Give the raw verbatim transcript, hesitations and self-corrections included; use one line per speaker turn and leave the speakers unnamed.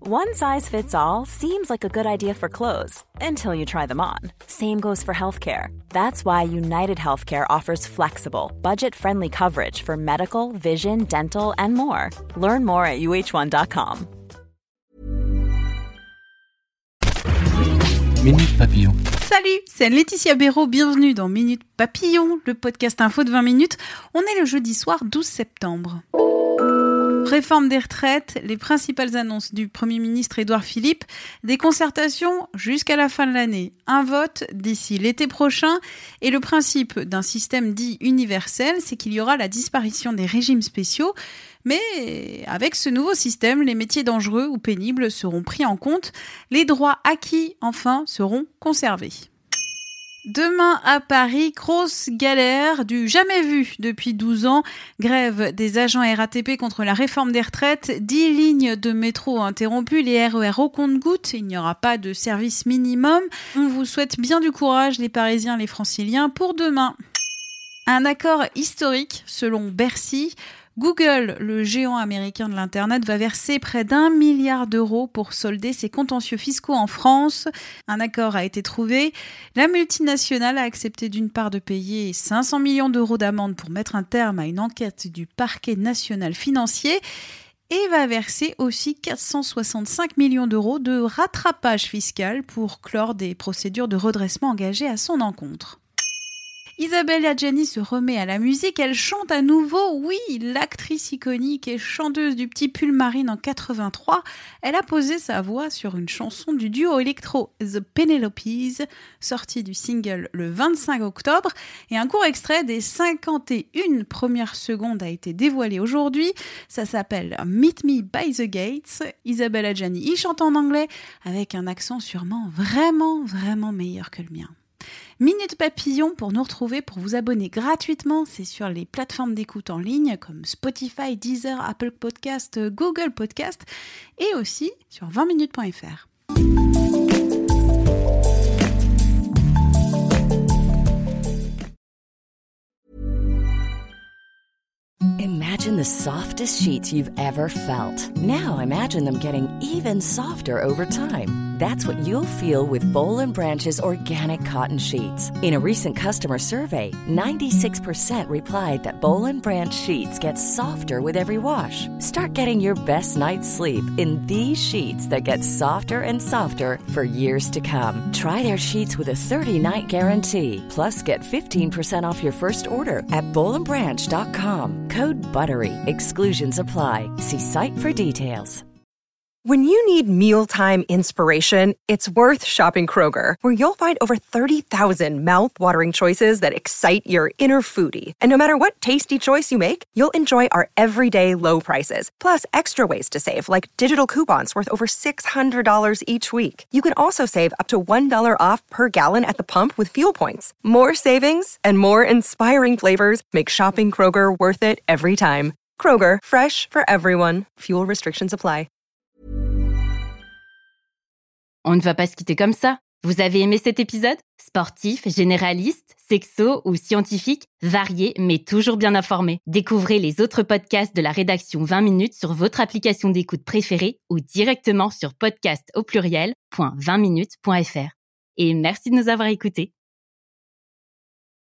One size fits all seems like a good idea for clothes until you try them on. Same goes for healthcare. That's why United Healthcare offers flexible, budget-friendly coverage for medical, vision, dental, and more. Learn more at U H one dot com.
Minute Papillon.
Salut, c'est Laetitia Béraud, bienvenue dans Minute Papillon, le podcast info de vingt minutes. On est le jeudi soir douze septembre. Réforme des retraites, les principales annonces du Premier ministre Édouard Philippe, des concertations jusqu'à la fin de l'année, un vote d'ici l'été prochain et le principe d'un système dit universel, c'est qu'il y aura la disparition des régimes spéciaux. Mais avec ce nouveau système, les métiers dangereux ou pénibles seront pris en compte, les droits acquis, enfin, seront conservés. Demain à Paris, grosse galère du jamais vu depuis douze ans. Grève des agents R A T P contre la réforme des retraites. dix lignes de métro interrompues, les R E R au compte-gouttes. Il n'y aura pas de service minimum. On vous souhaite bien du courage, les Parisiens, les Franciliens, pour demain. Un accord historique, selon Bercy. Google, le géant américain de l'Internet, va verser près d'un milliard d'euros pour solder ses contentieux fiscaux en France. Un accord a été trouvé. La multinationale a accepté d'une part de payer cinq cents millions d'euros d'amende pour mettre un terme à une enquête du parquet national financier et va verser aussi quatre cent soixante-cinq millions d'euros de rattrapage fiscal pour clore des procédures de redressement engagées à son encontre. Isabelle Adjani se remet à la musique, elle chante à nouveau, oui, l'actrice iconique et chanteuse du Petit Pull Marine en quatre-vingt-trois, elle a posé sa voix sur une chanson du duo électro The Penelopes, sortie du single le vingt-cinq octobre, et un court extrait des cinquante et une premières secondes a été dévoilé aujourd'hui, ça s'appelle Meet Me by the Gates. Isabelle Adjani y chante en anglais, avec un accent sûrement vraiment, vraiment meilleur que le mien. Minute Papillon pour nous retrouver, pour vous abonner gratuitement, c'est sur les plateformes d'écoute en ligne comme Spotify, Deezer, Apple Podcast, Google Podcast et aussi sur vingt minutes point f r.
Imagine the softest sheets you've ever felt. Now imagine them getting even softer over time. That's what you'll feel with Boll and Branch's organic cotton sheets. In a recent customer survey, ninety-six percent replied that Boll and Branch sheets get softer with every wash. Start getting your best night's sleep in these sheets that get softer and softer for years to come. Try their sheets with a thirty-night guarantee. Plus, get fifteen percent off your first order at boll and branch dot com. Code BUTTERY. Exclusions apply. See site for details.
When you need mealtime inspiration, it's worth shopping Kroger, where you'll find over thirty thousand mouth-watering choices that excite your inner foodie. And no matter what tasty choice you make, you'll enjoy our everyday low prices, plus extra ways to save, like digital coupons worth over six hundred dollars each week. You can also save up to one dollar off per gallon at the pump with fuel points. More savings and more inspiring flavors make shopping Kroger worth it every time. Kroger, fresh for everyone. Fuel restrictions apply.
On ne va pas se quitter comme ça. Vous avez aimé cet épisode ? Sportif, généraliste, sexo ou scientifique, varié mais toujours bien informé. Découvrez les autres podcasts de la rédaction vingt minutes sur votre application d'écoute préférée ou directement sur podcast au pluriel point vingt minutes point f r. Et merci de nous avoir écoutés.